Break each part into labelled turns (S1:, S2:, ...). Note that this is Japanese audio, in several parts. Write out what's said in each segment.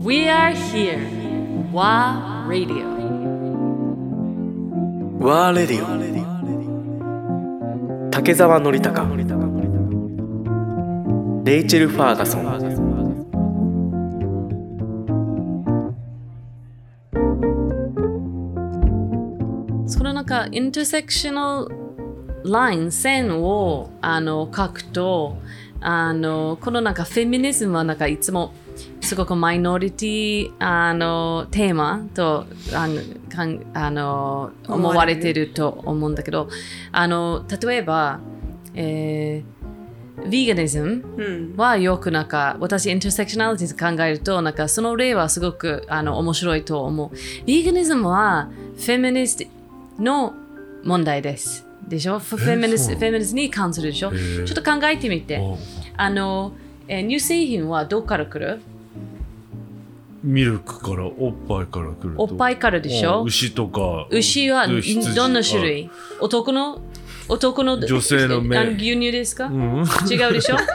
S1: We are here. WA Radio.
S2: WA Radio。竹澤典孝、レイチェル・ファーガソン。
S1: そのインターセクショナルライン、線を書くと、このフェミニズムはいつもすごくマイノリティテーマと思われていると思うんだけど、例えば、ヴィーガニズムはよく私インターセクショナリティ考えるとその例はすごく面白いと思う。ヴィーガニズムはフェミニストの問題です。でしょ？フェミニストに関するでしょ？ちょっと考えてみて。乳製品はどこから来る？
S3: ミルクから、おっぱいから来ると。
S1: おっぱいからでしょ？
S3: 牛とか。
S1: 牛はどんな種類？男の
S3: 女性の
S1: 牛乳ですか？違うでしょ？
S3: はい。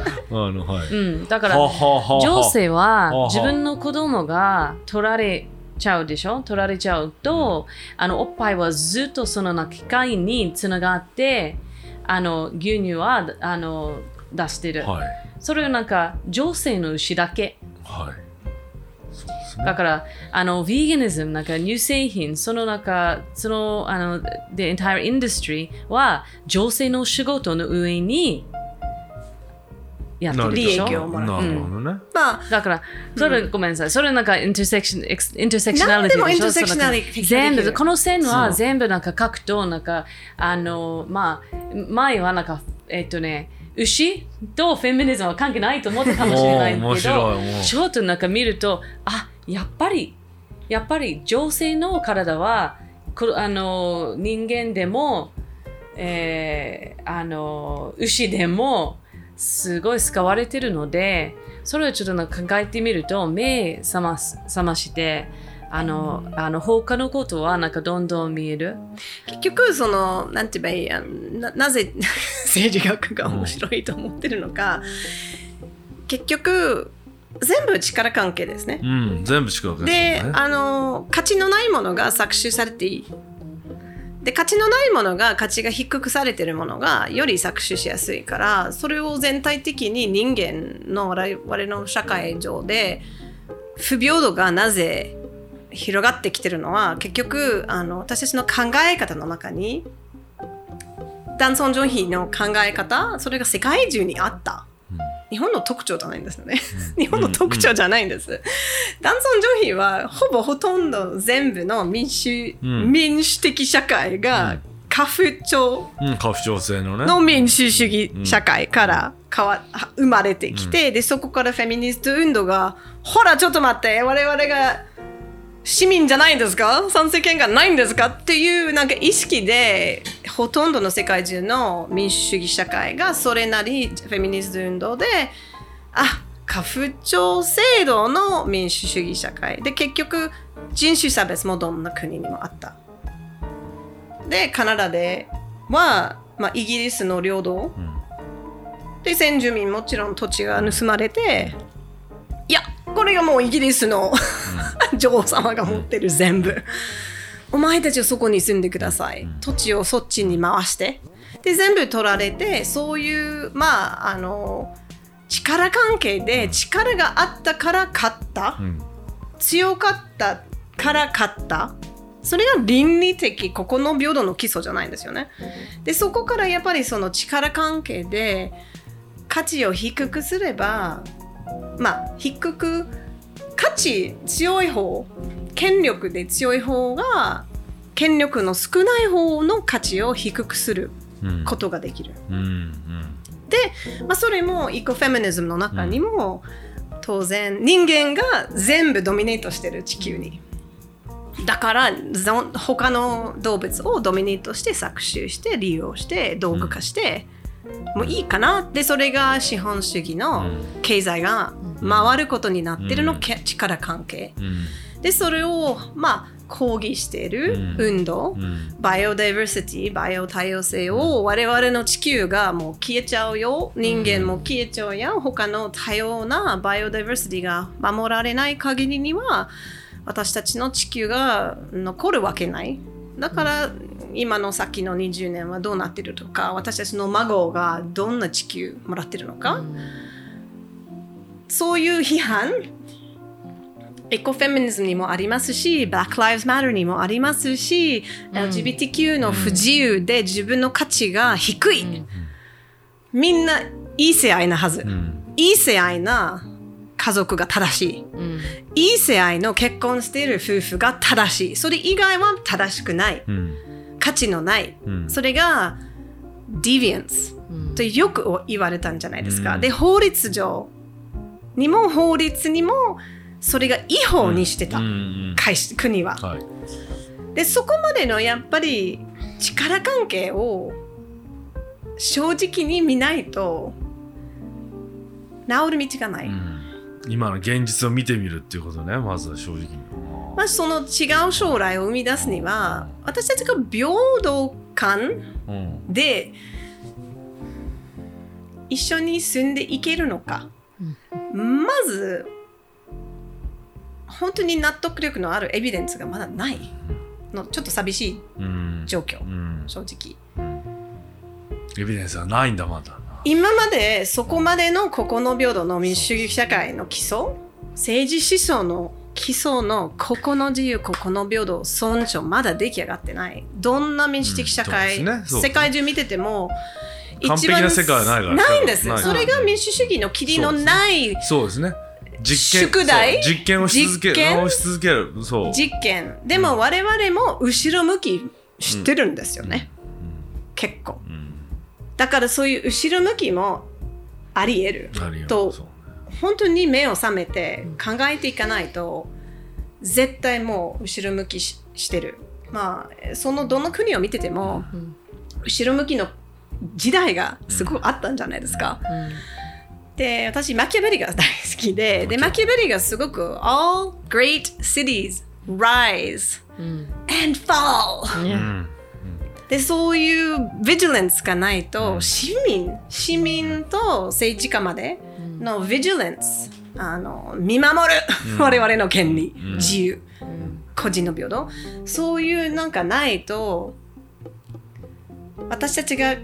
S1: だから女性は自分の子供が取られちゃうでしょ？取られちゃうと、おっぱいはずっとその機械につながって、牛乳は出してる。はい、それは女性の牛だけ。はい。だからヴィーガニズム乳製品the entire industry は女性の仕事の上にやってるでしょ。
S3: 利益をもらう。なるほどね。
S1: だからそれ、ごめんなさい。それインターセクショナリティでしょ。全部この線は全部書くと前は牛とフェミニズムは関係ないと思ったかもしれないけど、ちょっと見ると、やっぱり女性の体は人間でも、牛でもすごい使われているので、それをちょっと考えてみると目覚まして他のことはどんどん見える。
S4: 結局なんて言えばいいなぜ政治学が面白いと思ってるのか、結局全部力関係ですね。
S3: 全部力関係ですね。
S4: で、価値のないものが搾取されていい。で、価値のないものが価値が低くされているものがより搾取しやすいから、それを全体的に人間の我々の社会上で不平等がなぜ広がってきてるのは、結局私たちの考え方の中に男尊女卑の考え方、それが世界中にあった。日本の特徴じゃないんですよね。日本の特徴じゃないんです。男尊女卑はほとんど全部の民主的社会が家父長
S3: 制のね
S4: の民主主義社会から生まれてきて、でそこからフェミニスト運動がほらちょっと待って、我々が市民じゃないんですか？参政権がないんですか？っていう意識でほとんどの世界中の民主主義社会がそれなりフェミニスト運動で家父長制度の民主主義社会で、結局人種差別もどんな国にもあった。でカナダでは、イギリスの領土、で先住民もちろん土地が盗まれて、いやこれがもうイギリスの女王様が持ってる全部、お前たちはそこに住んでください、土地をそっちに回して、で全部取られて、そういう力関係で力があったから勝った、強かったから勝った、それが倫理的ここの平等の基礎じゃないんですよね。でそこからやっぱりその力関係で価値を低くすれば、価値強い方、権力で強い方が権力の少ない方の価値を低くすることができる。で、それもイコフェミニズムの中にも、当然人間が全部ドミネートしてる地球に。だから他の動物をドミネートして搾取して利用して道具化して、もういいかな。でそれが資本主義の経済が回ることになってるの、力関係、でそれを抗議している運動、バイオダイバーシティ、バイオ多様性を我々の地球がもう消えちゃうよ、人間も消えちゃうやん、他の多様なバイオダイバーシティが守られない限りには私たちの地球が残るわけない。だから今の先の20年はどうなってるとか、私たちの孫がどんな地球もらってるのか、そういう批判エコフェミニズムにもありますし、Black Lives Matter にもありますし、LGBTQ の不自由で自分の価値が低い、みんないい性愛なはず、いい性愛な家族が正しい、いい性愛の結婚している夫婦が正しい、それ以外は正しくない、価値のない、それが deviance、とよく言われたんじゃないですか。で、法律上にも法律にもそれが違法にしてた、国は、でそこまでのやっぱり力関係を正直に見ないと治る道がない、
S3: 今の現実を見てみるっていうことね、まずは正直に。
S4: まあ、その違う将来を生み出すには私たちが平等感で一緒に住んでいけるのか、まず本当に納得力のあるエビデンスがまだないの、ちょっと寂しい状況、正直
S3: エビデンスはないんだ、まだ。
S4: 今までそこまでの個々の平等の民主主義社会の基礎、政治思想の基礎の個々の自由、個々の平等、尊重、まだ出来上がってない。どんな民主的社会、世界中見てても
S3: 完璧な世界はないから
S4: ないんです。それが民主主義の霧のない、
S3: そうですね、
S4: 宿題、
S3: 実験をし続ける、そう
S4: 実験でも我々も後ろ向き知ってるんですよね、結構、だからそういう後ろ向きもあり得ると、本当に目を覚めて考えていかないと絶対もう後ろ向きしてる。まあそのどの国を見てても後ろ向きの時代がすごくあったんじゃないですか、で、私マキャベリが大好きで、マキャベリがすごく All great cities rise and fall、で、そういうビジランスがないと、市民と政治家までのビジランス、見守る、我々の権利、自由、個人の平等、そういうなんかないと私たちが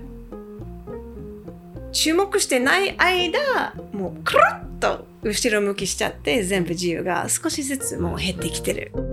S4: 注目してない間、もうクルッと後ろ向きしちゃって、全部自由が少しずつもう減ってきてる。